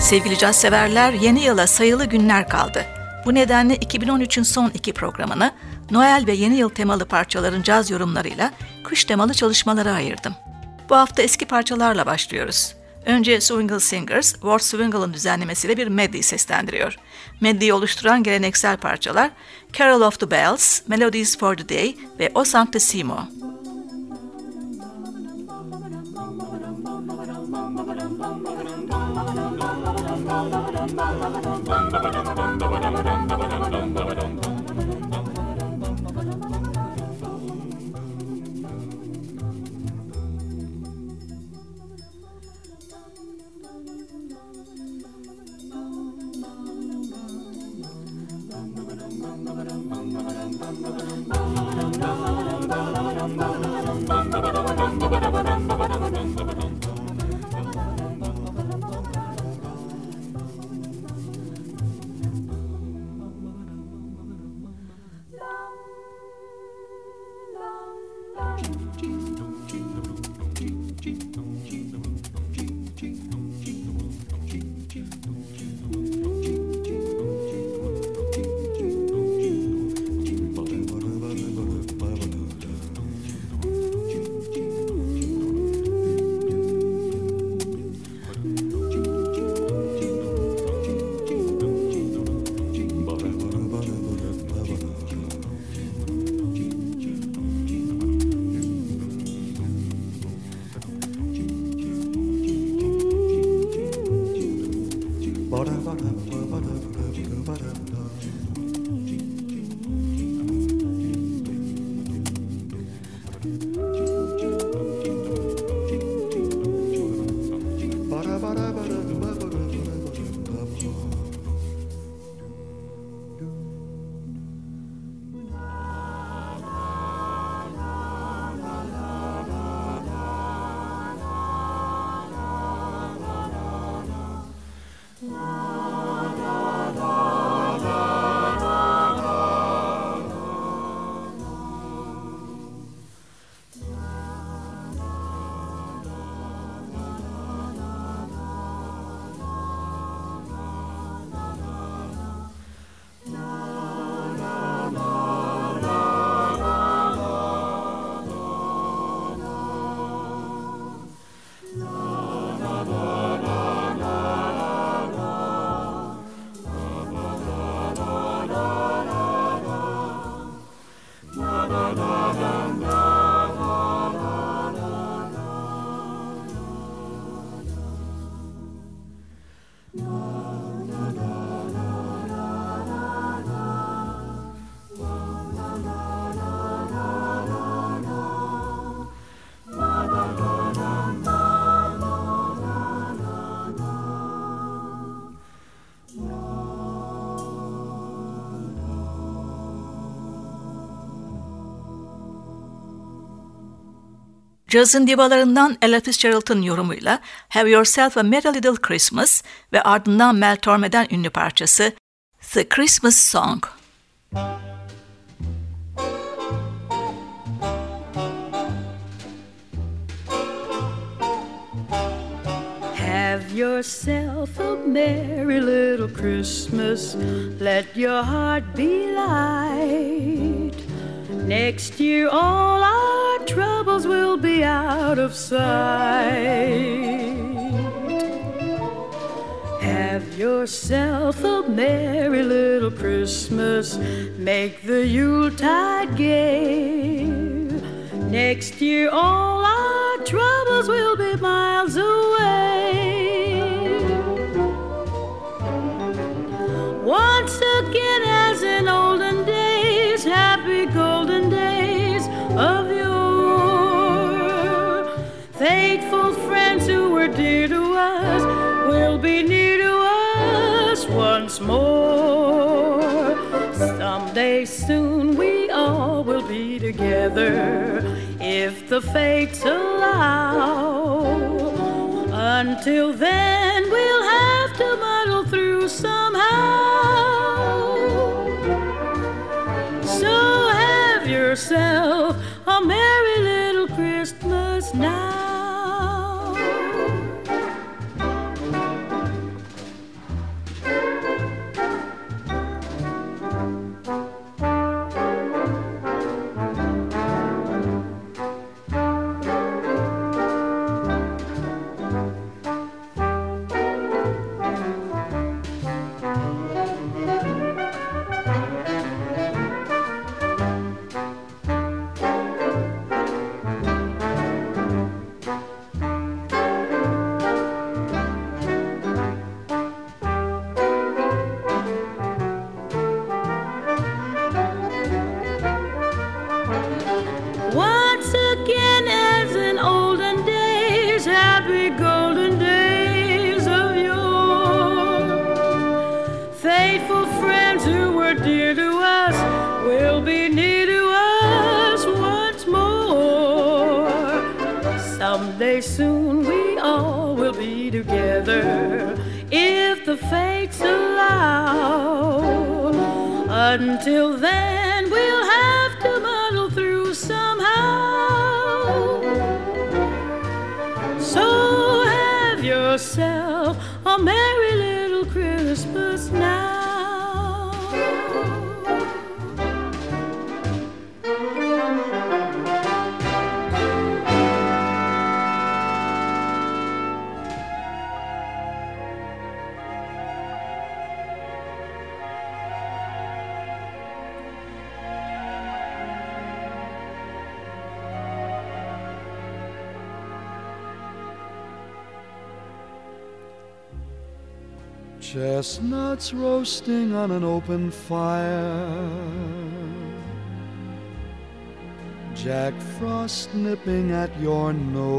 Sevgili caz severler, yeni yıla sayılı günler kaldı. Bu nedenle 2013'ün son 2 programını Noel ve yeni yıl temalı parçaların caz yorumlarıyla kış temalı çalışmalara ayırdım. Bu hafta eski parçalarla başlıyoruz. Önce Swingle Singers, Ward Swingle'ın düzenlemesiyle bir medley seslendiriyor. Medley'i oluşturan geleneksel parçalar Carol of the Bells, Melodies for the Day ve O Sanctissimo. Cazın divalarından Ella Fitzgerald'ın yorumuyla Have Yourself a Merry Little Christmas ve ardından Mel Torme'den ünlü parçası The Christmas Song. Have yourself a merry little Christmas. Let your heart be light. Next year all our troubles will be out of sight. Have yourself a merry little Christmas. Make the Yuletide gay. Next year all our troubles will be miles away. Once again as in olden days, happy golden days of yore. Faithful friends who were dear to us will be near to us once more. Someday soon we all will be together if the fates allow. Until then we'll have to muddle through somehow. So have yourself a merry little Christmas now. dear to us will be near to us once more. Someday soon we all will be together if the fates allow. Until then we'll have to muddle through somehow. So have yourself a merry little Christmas now. Chestnuts roasting on an open fire, Jack Frost nipping at your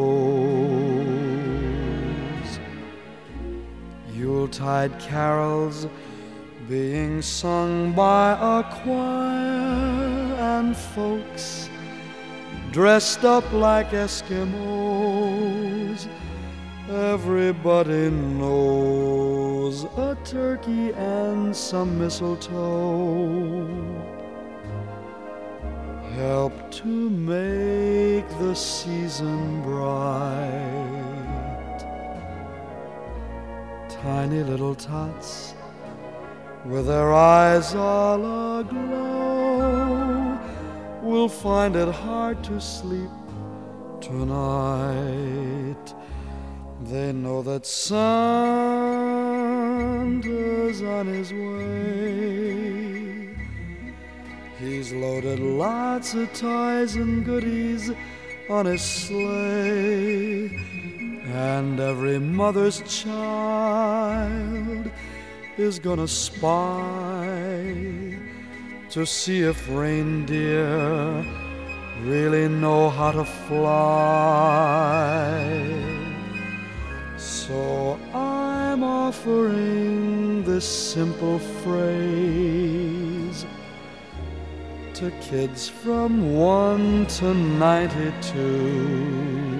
nose, Yuletide carols being sung by a choir, and folks dressed up like Eskimos. Everybody knows a turkey and some mistletoe help to make the season bright. Tiny little tots with their eyes all aglow will find it hard to sleep tonight. They know that Santa's on his way. He's loaded lots of toys and goodies on his sleigh, and every mother's child is gonna spy to see if reindeer really know how to fly. So I'm offering this simple phrase to kids from 1 to 92.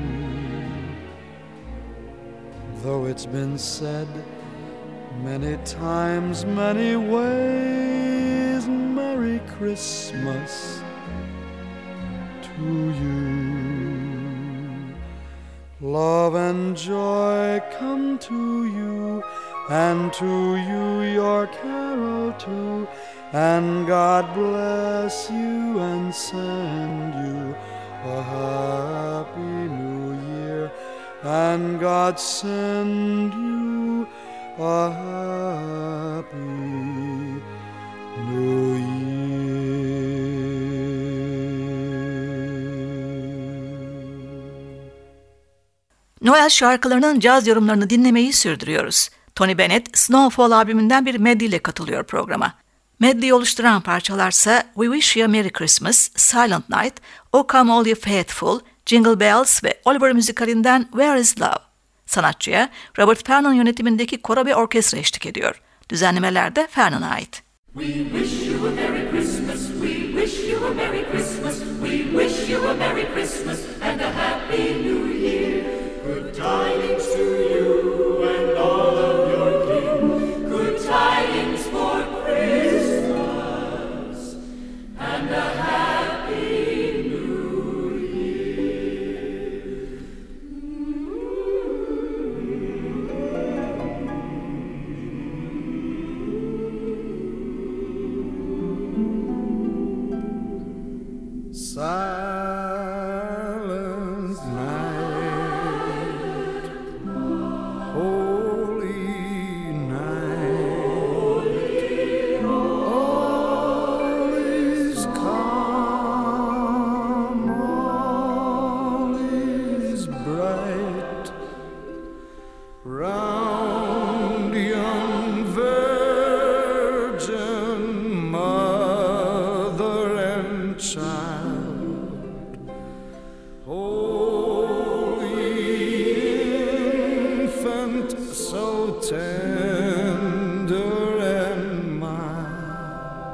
Though it's been said many times, many ways, Merry Christmas to you. Love and joy come to you, and to you your carol too, and God bless you and send you a happy new year, and God send you a happy new year. Noel şarkılarının caz yorumlarını dinlemeyi sürdürüyoruz. Tony Bennett, Snowfall albümünden bir medley ile katılıyor programa. Medley'i oluşturan parçalarsa We Wish You a Merry Christmas, Silent Night, O Come All You Faithful, Jingle Bells ve Oliver müzikalinden Where Is Love. Sanatçıya Robert Fernon yönetimindeki koro ve orkestra eşlik ediyor. Düzenlemeler de Fernon'a ait. We wish you a Merry Christmas, we wish you a Merry Christmas, we wish you a Merry Christmas and a Happy New Year. Good tidings to you and all of your kin, good tidings for Christmas and a Happy New Year. Silent night, holy night, all is calm, all is bright, round young virgin mother and child, holy infant, so tender and mild.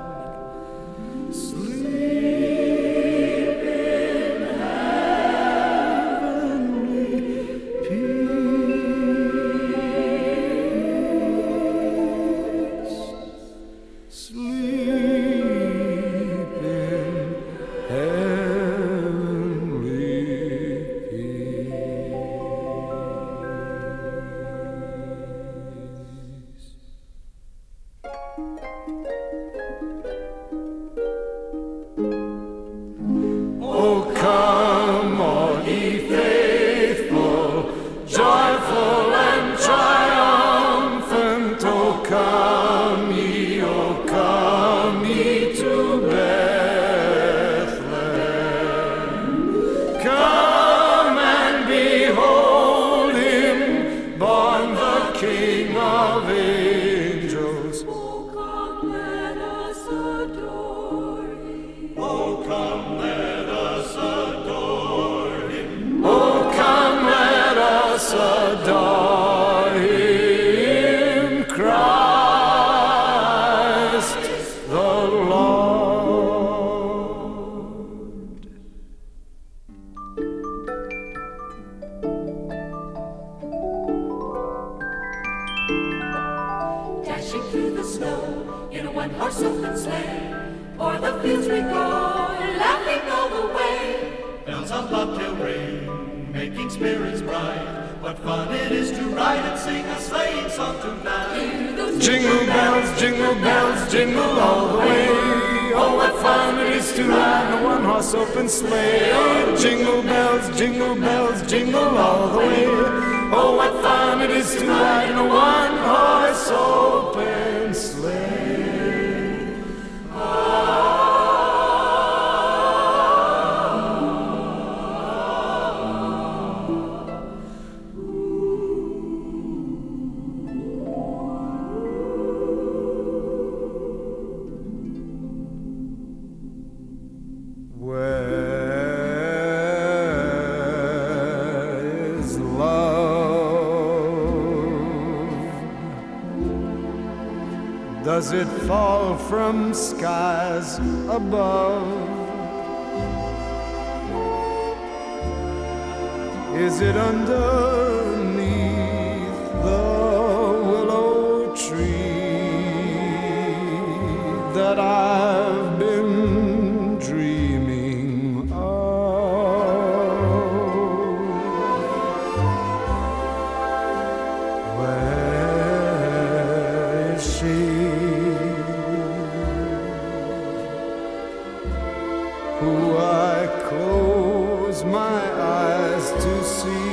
fields we go, laughing all the way. Bells on bobtail ring, making spirits bright. What fun it is to ride and sing a sleighing song tonight. Jingle bells, jingle all the way. Oh, what fun it is to ride in a one-horse open sleigh. Jingle bells, jingle all the way. Oh, what fun it is to ride in a one-horse open sleigh. Does it fall from skies above? Is it underneath the willow tree that I've been dreaming of? Where is she? Who I close my eyes to see.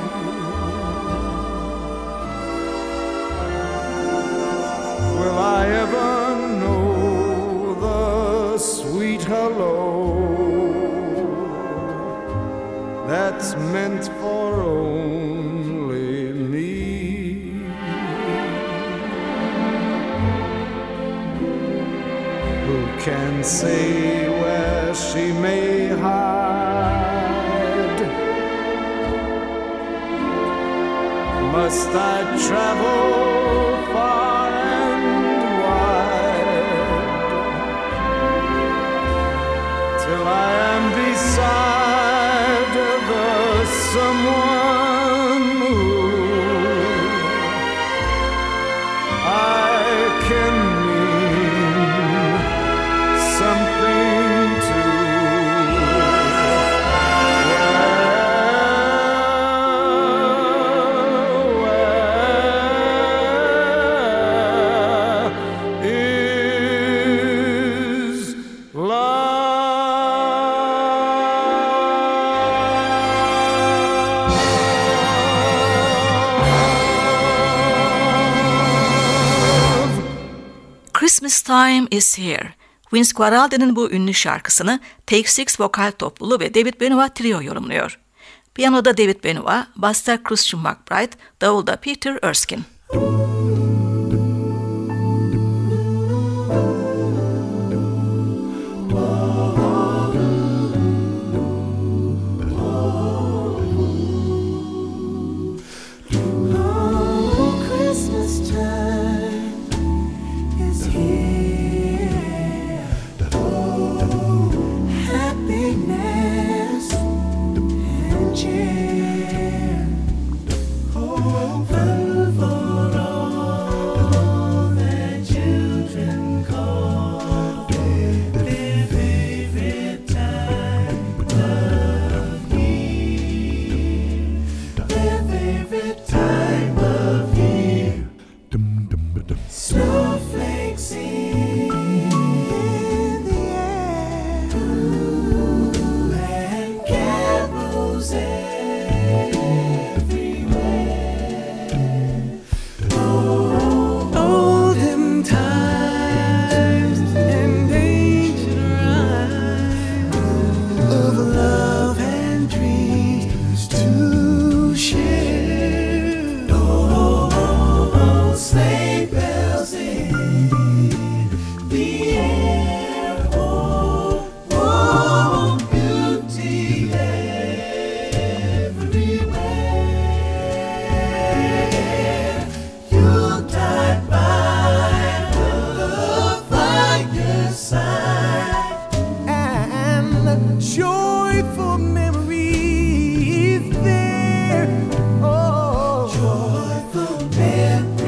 Will I ever know the sweet hello that's meant for only me? Who can say where she may hide? Must I travel far and wide till I am beside the someone who I can mean something to? Christmas Time is Here. Vince Guaraldi'nin bu ünlü şarkısını Take Six vokal topluluğu ve David Benoit trio yorumluyor. Piyanoda David Benoit, basta Christian McBride, davulda Peter Erskine.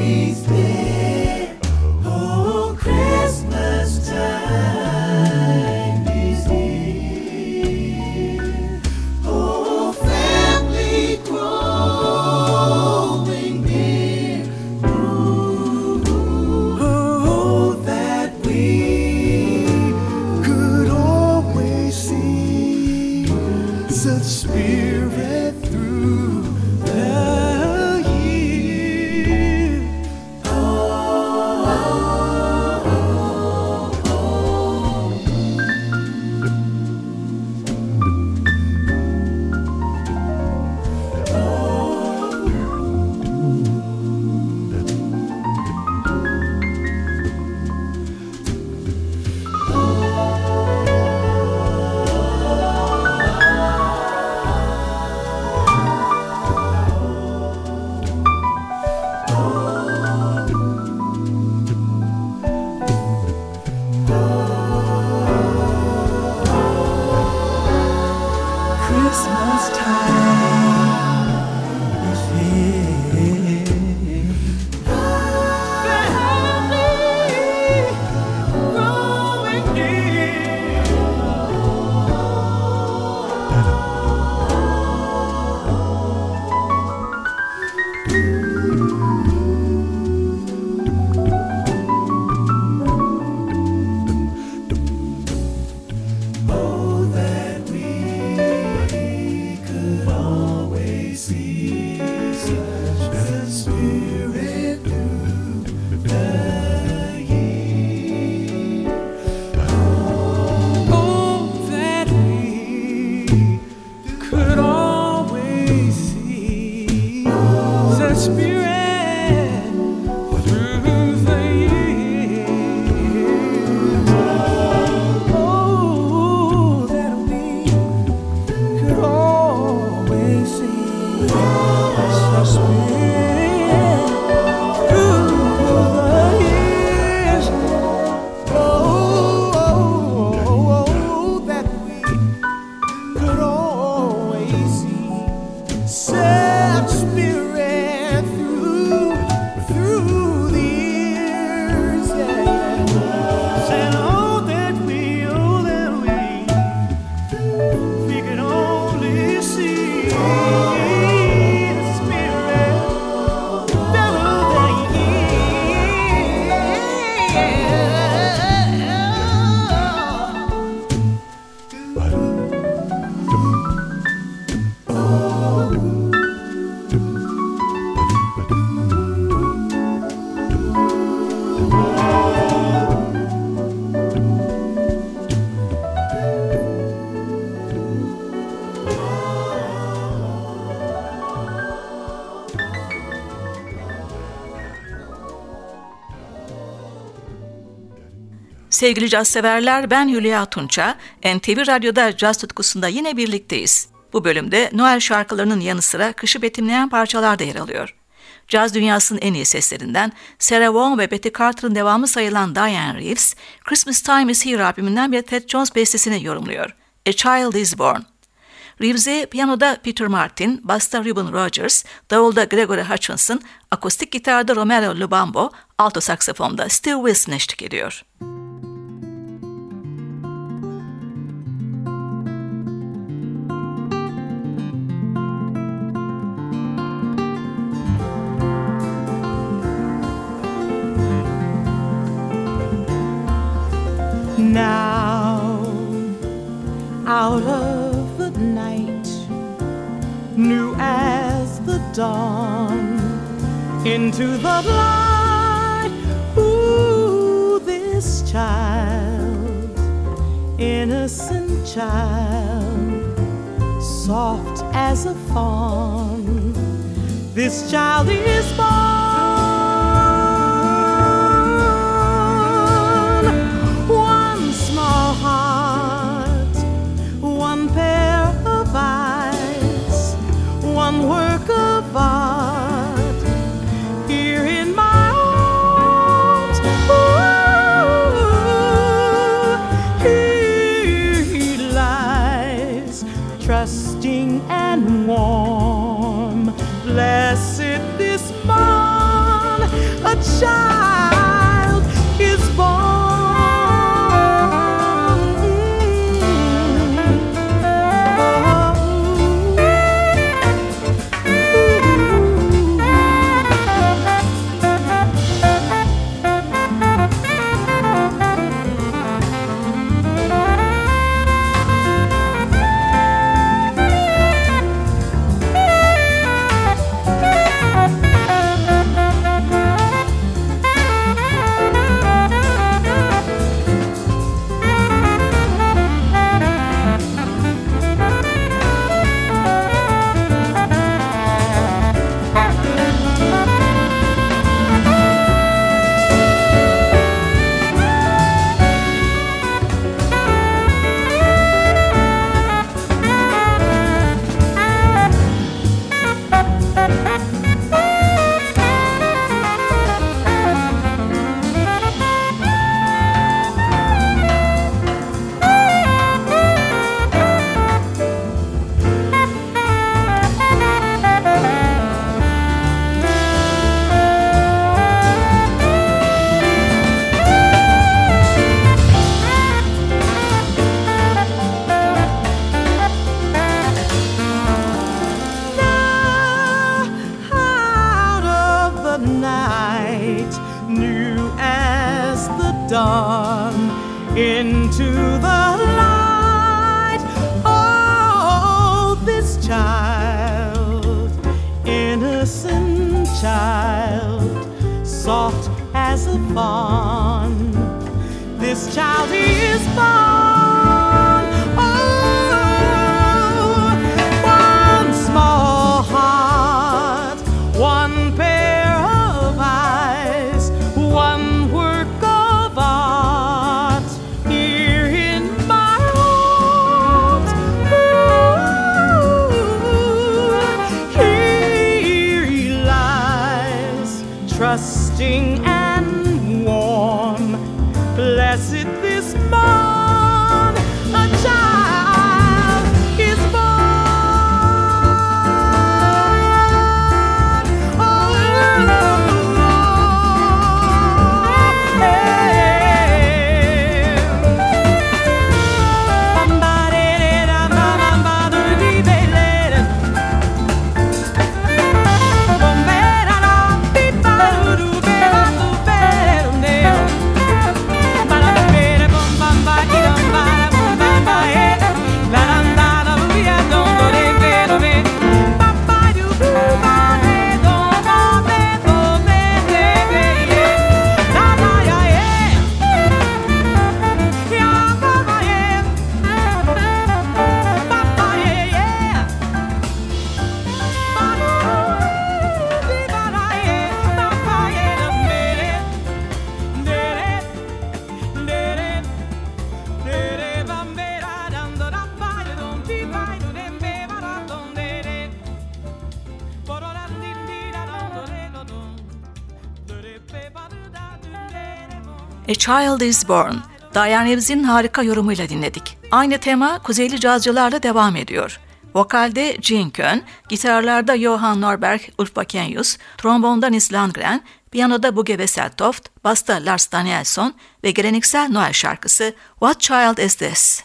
Christmas time. Christmas time is here. Family growing near. Oh, that we could always see such the Spirit through the year. Oh, that we could always see such Spirit through the years. Oh, that we could always see such Spirit through the years. Oh, that we could always see such Spirit through the years. Yeah. And oh, that we could only see the Spirit through the Sevgili caz severler, ben Hülya Tunça. NTV Radyo'da caz tutkusunda yine birlikteyiz. Bu bölümde Noel şarkılarının yanı sıra kışı betimleyen parçalar da yer alıyor. Caz dünyasının en iyi seslerinden Sarah Vaughan ve Betty Carter'ın devamı sayılan Diane Reeves, Christmas Time is Here albümünden bir Ted Jones bestesini yorumluyor. A Child is Born. Reeves'e piyanoda Peter Martin, basta Reuben Rogers, davulda Gregory Hutchinson, akustik gitarda Romero Lubambo, alto saksafonda Steve Wilson eşlik ediyor. Now, out of the night, new as the dawn, into the light, ooh, this child, innocent child, soft as a fawn, this child is born. One work of art here in my arms. Ooh, here he lies, trusting and warm. Blessed this morn, a child is born. fawn. This child is born. Oh, one small heart, one pair of eyes, one work of art here in my arms. Ooh, here he lies, trusting and warm. Blessed this morn, a child is born. Oh, A Child is Born, Diane Reeves'in harika yorumuyla dinledik. Aynı tema Kuzeyli cazcılarla devam ediyor. Vokalde Gene Kön, gitarlarda Johan Norberg, Ulf Wakenius, trombonda Nils Landgren, piyanoda Bugge Wesseltoft, basta Lars Danielsson ve geleneksel Noel şarkısı What Child Is This?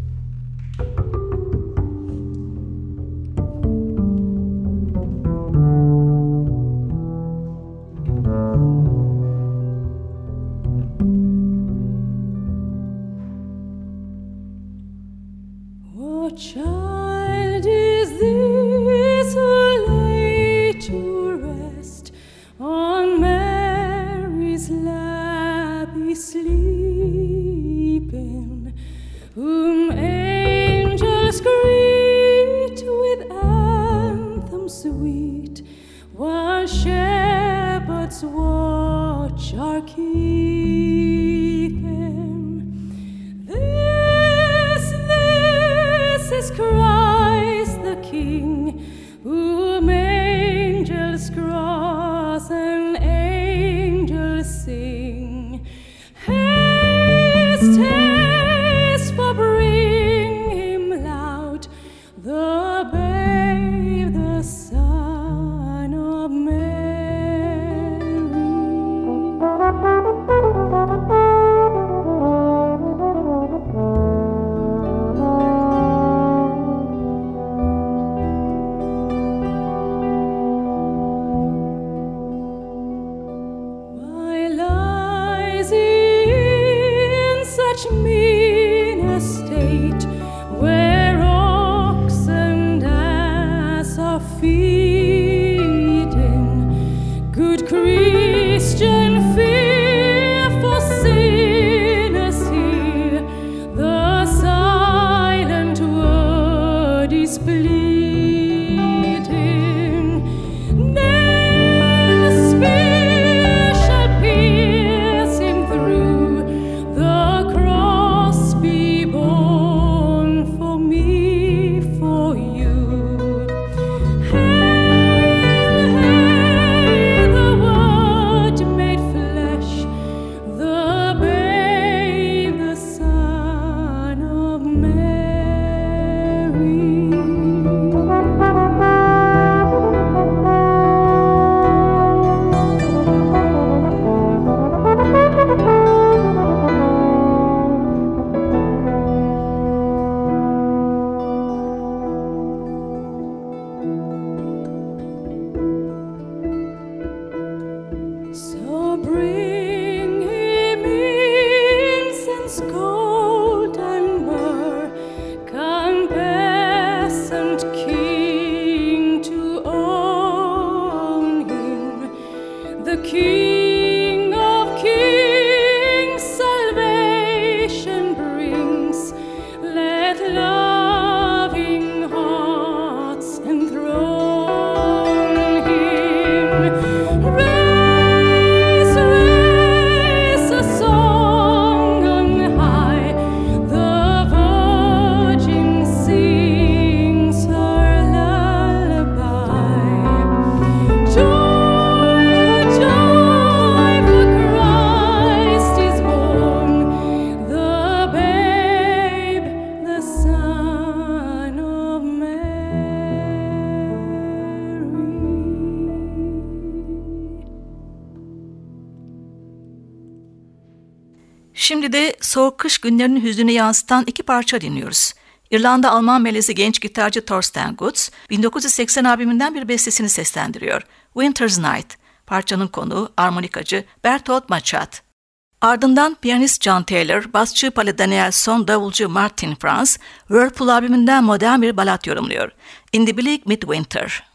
What child is this who lay to rest on Mary's lap is sleeping, whom angels greet with anthems sweet, while shepherds watch are keeping? This is Christ the King, whom angels cross and angels sing. Haste, haste, for bring him loud, the babe, the Son of Mary. Şimdi de soğuk kış günlerinin hüznünü yansıtan iki parça dinliyoruz. İrlanda-Alman melezi genç gitarcı Thorsten Gutz, 1980 albümünden bir bestesini seslendiriyor. Winter's Night. Parçanın konuğu armonikacı Bertolt Machat. Ardından piyanist John Taylor, basçı Palle Danielson, davulcu Martin Franz, Whirlpool albümünden modern bir balat yorumluyor. In the Bleak Midwinter.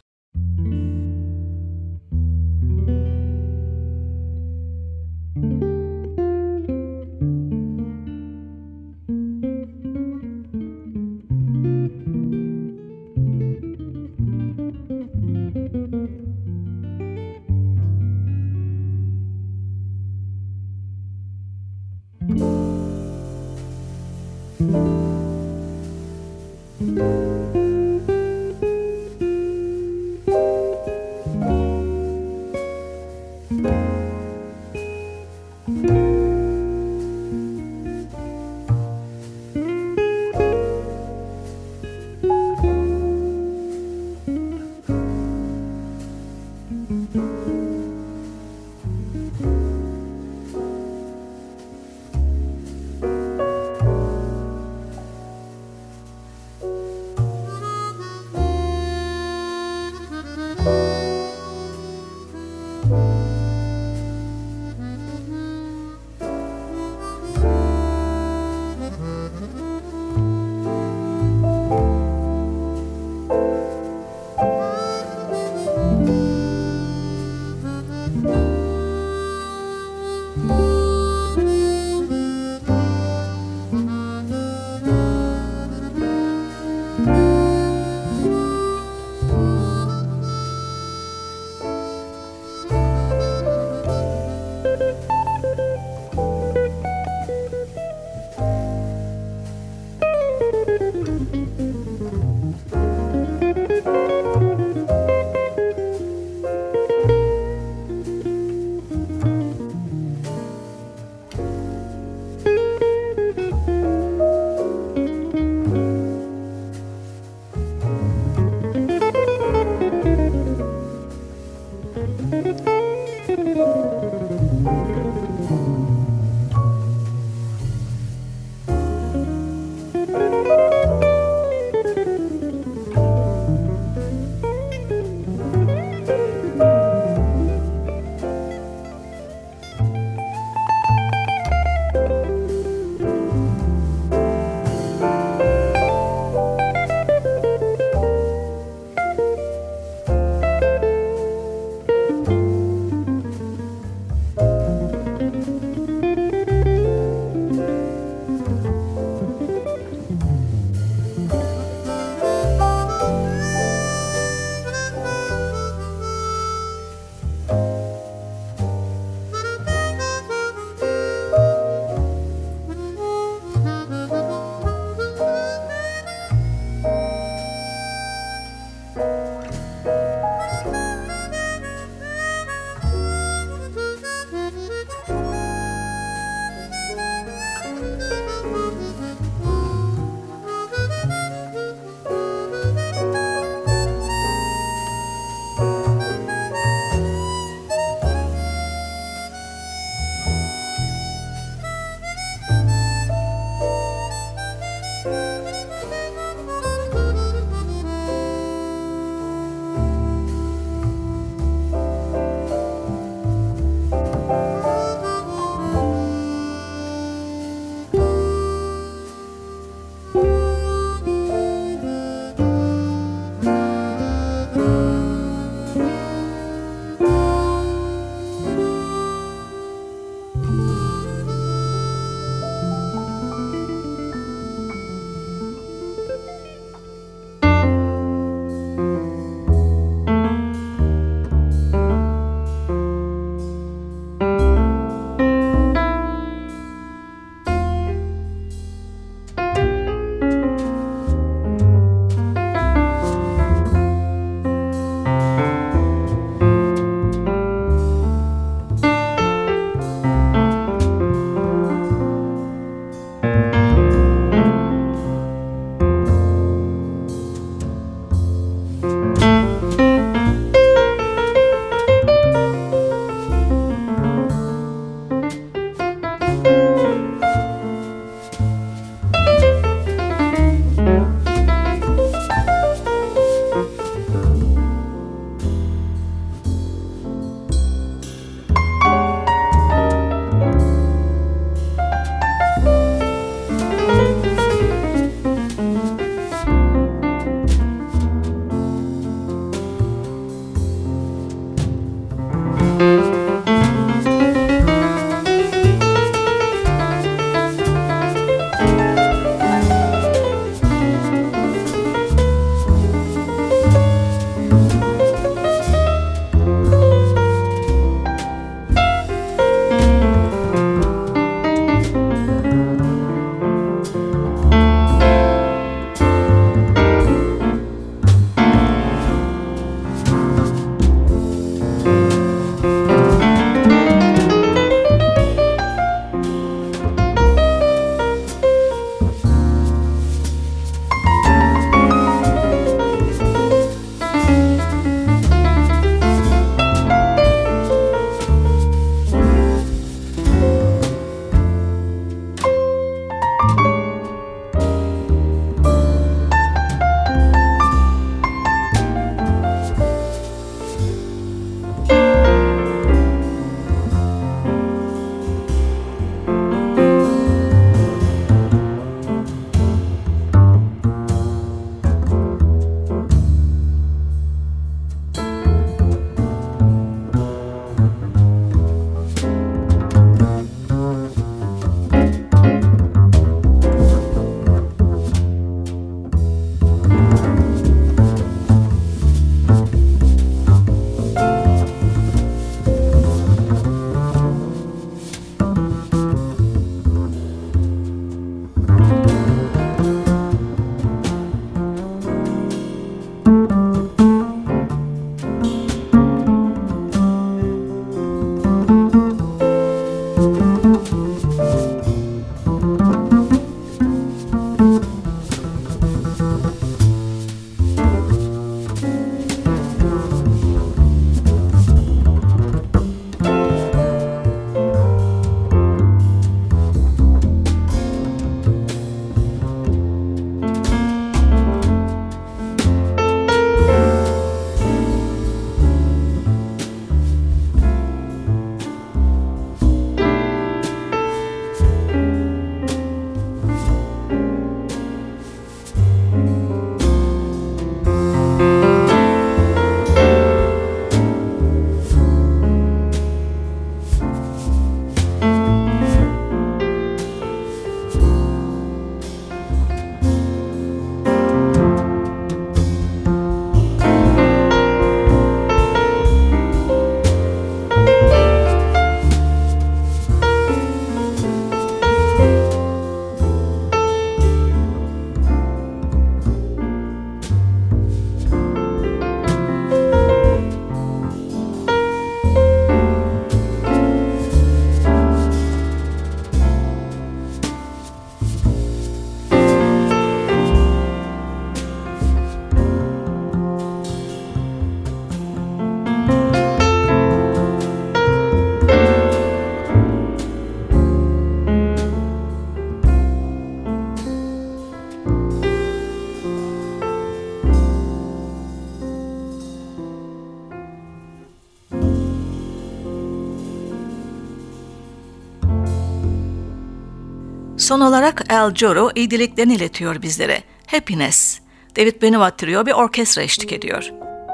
Son olarak Al Jarreau iyi dileklerini iletiyor bizlere. Happiness. David Benoit Trio bir orkestra eşlik ediyor.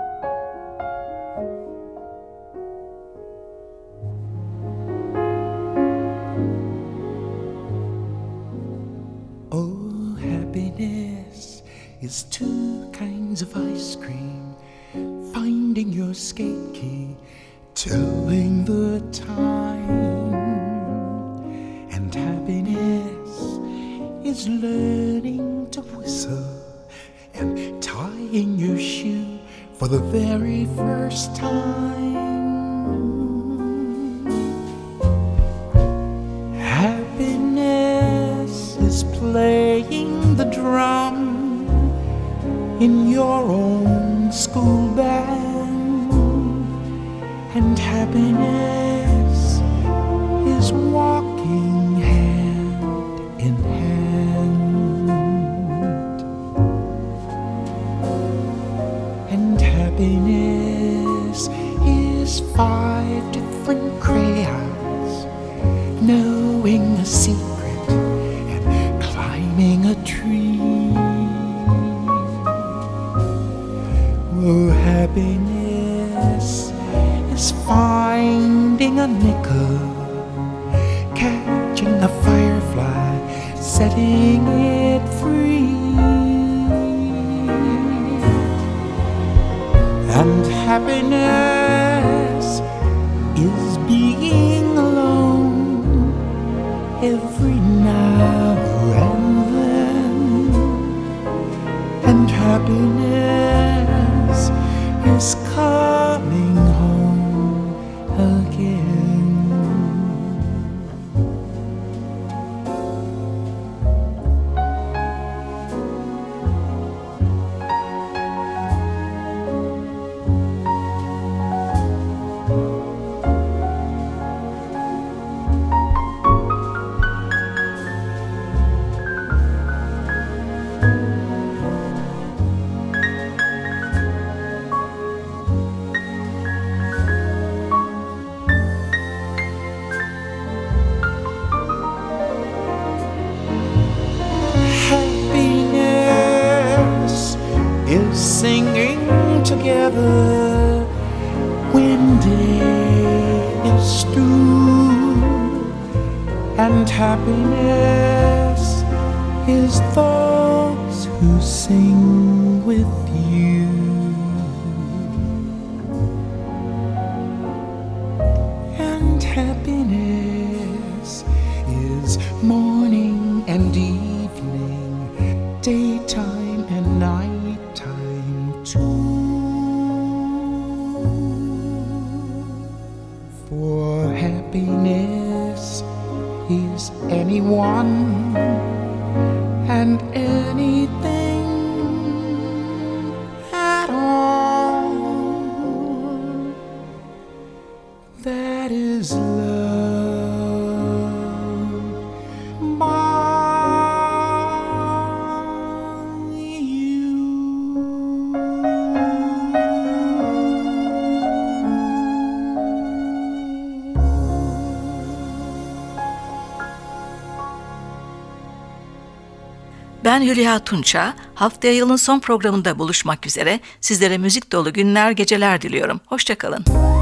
Oh, happiness is two kinds of ice cream, finding your skate key, telling the time. And happiness is learning to whistle and tying your shoe for the very first time. Happiness is playing the drum in your own school band, and happiness is walking hand in hand, and happiness is 5 different crayons knowing a secret and climbing a tree. Oh, happiness is finding a nickel, catching a firefly, setting it free. And happiness is being alone every now and then, and happiness is coming home again. Singing together when day is through, and happiness is those who sing with you. And happiness is morning and evening, daytime and night. For happiness is anyone and anything at all that is loved by Ben Hülya Tunça. Haftaya yılın son programında buluşmak üzere. Sizlere müzik dolu günler, geceler diliyorum. Hoşça kalın.